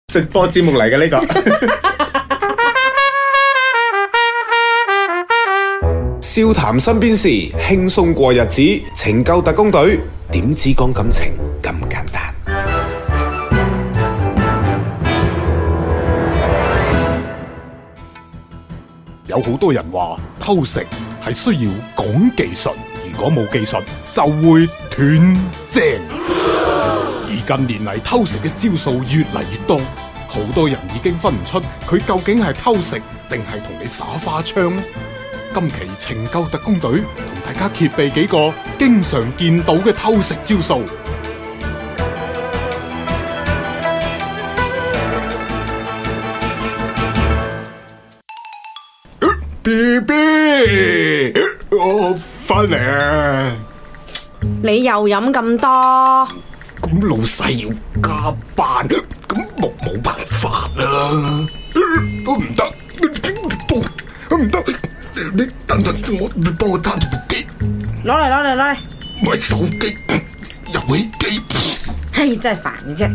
直播節目嚟嘅呢個。笑談身邊事，輕鬆過日子，拯救特工隊，點止講感情咁簡單。 有好多人話偷食係需要講技術，如果冇技術就會斷正。而近年嚟偷食嘅招數越嚟越多，好多人已經分唔出佢究竟係偷食定係同你耍花槍呢？今期拯救特工隊同大家揭秘幾個經常見到嘅偷食招數。BB， 我翻嚟啊！ 你又飲咁多？ 咁老細要加班，咁冇辦法啦。我唔得，唔得，你等陣，你幫我揸住部機。 攞嚟！ 唔係手機，遊戲機。 嘿，真係煩嘅啫。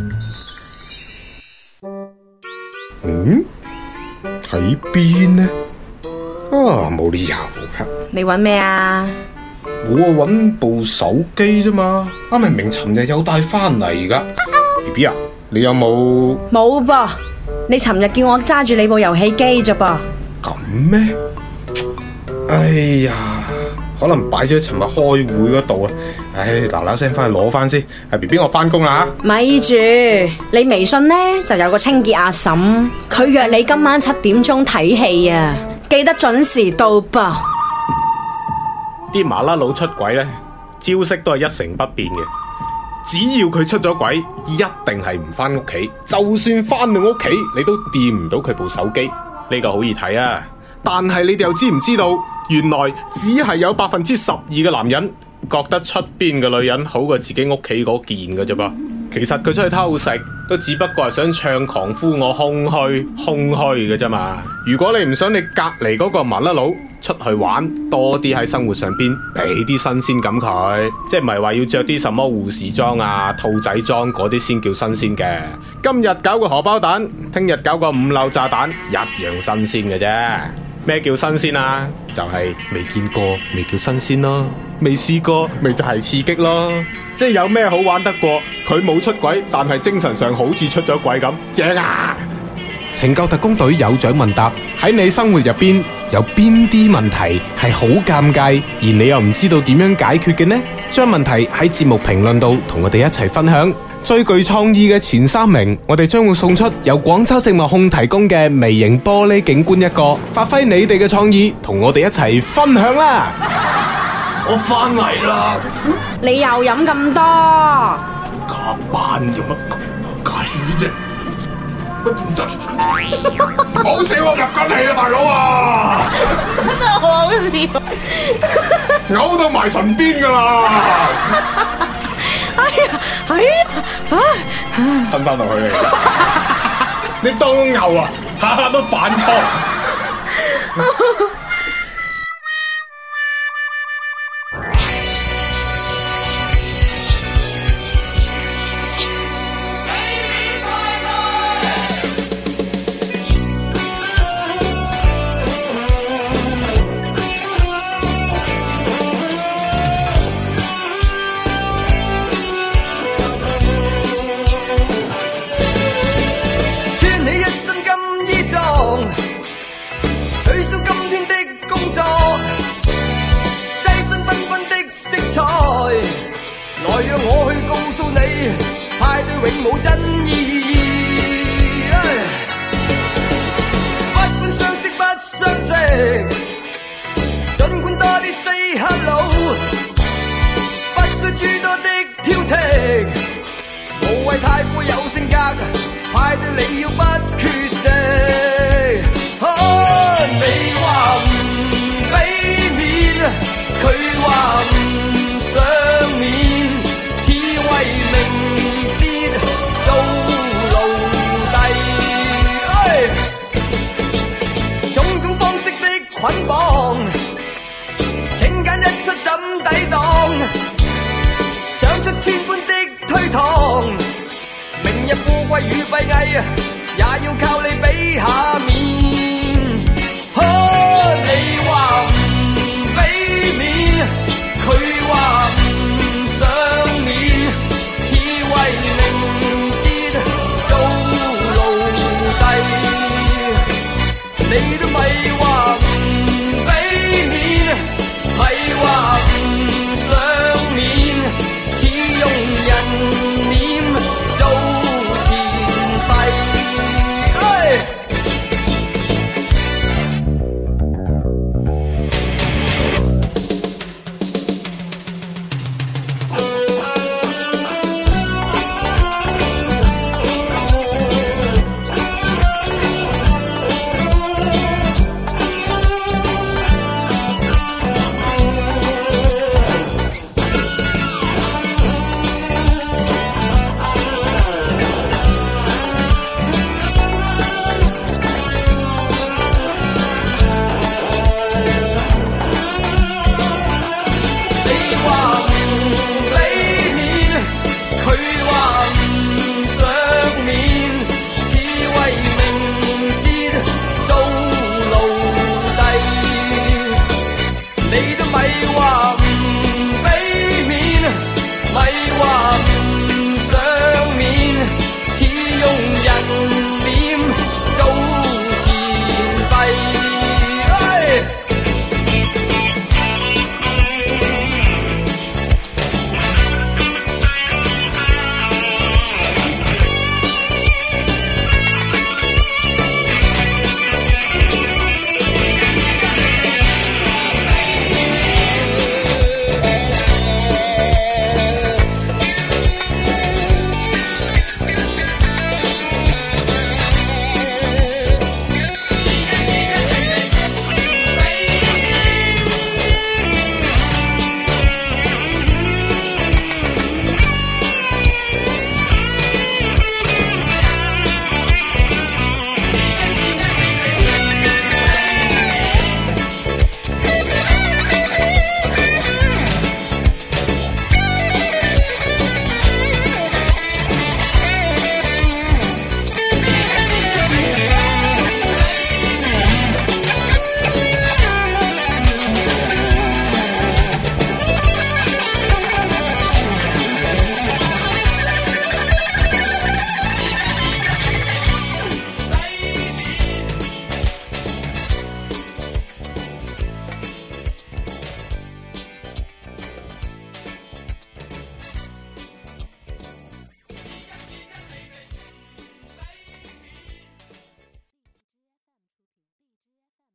喺邊呢？啊，冇理由噶。 你搵咩啊？ 我搵部手機啫嘛，明明尋日有帶翻嚟噶。BB 啊，你有冇？ 冇噃，你尋日叫我揸住你部遊戲機啫噃。 咁咩？哎呀，可能擺咗喺尋日開會嗰度啊。嗱聲翻去攞翻先。BB 我翻工啦吓。 咪住，你微信呢就有個清潔阿嬸，佢約你今晚7點鐘睇戲啊，記得準時到噃。 啲麻甩佬出軌呢，招式都係一成不變嘅。只要佢出咗軌，一定係唔翻屋企。就算翻到屋企，你都掂唔到佢部手機。呢個好易睇啊！但係你哋又知唔知道，原來只係有12%嘅男人覺得出邊嘅女人好過自己屋企嗰件嘅啫噃。其實佢出去偷食都只不過係想唱狂呼我空虛嘅啫嘛。如果你唔想你隔籬嗰個麻甩佬出去玩，多啲喺生活上邊俾啲新鮮感佢，即係唔係話要着啲什麼護士裝啊、兔仔裝嗰啲先叫新鮮嘅。今日搞個荷包蛋，聽日搞個5漏炸彈，一樣新鮮嘅啫。咩叫新鮮啊？就係未見過，未叫新鮮咯；未試過，咪就係刺激咯。即係有咩好玩得過佢冇出軌，但係精神上好似出咗軌咁，正啊！拯救特工隊有獎問答，喺你生活入邊有邊啲問題係好尷尬，而你又唔知道點樣解決嘅呢？將問題喺節目評論度同我哋一齊分享。最具創意嘅前3名，我哋將會送出由廣州植物控提供嘅微型玻璃景觀1個。發揮你哋嘅創意，同我哋一齊分享啦！我翻嚟啦！ 你又飲咁多？ 加班有乜計啫？唔好笑我入緊氣啊，大佬啊！ 真係好笑， 嘔到埋神邊噶啦！吞翻落去你當牛啊，下下都反錯。 取消今天的工作，擠身繽紛的色彩，來讓我去告訴你，派對永無真意。不管相識不相識，儘管多啲 say hello， 不需諸多的挑剔，無謂太過有性格，派對你要不缺席。你話唔俾面，佢話唔想面，只為明節做奴隸。種種方式的捆綁，請揀一出怎抵擋？想出千般的推搪，明日富貴與閉翳， 也要靠你俾下面。